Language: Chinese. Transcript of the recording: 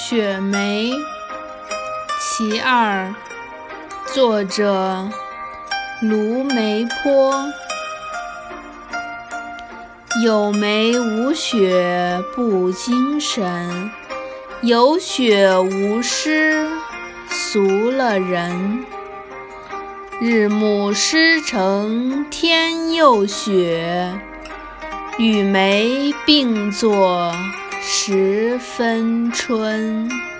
雪梅其二，作者卢梅坡。有梅无雪不精神，有雪无诗俗了人。日暮诗成天又雪，与梅并作十分春。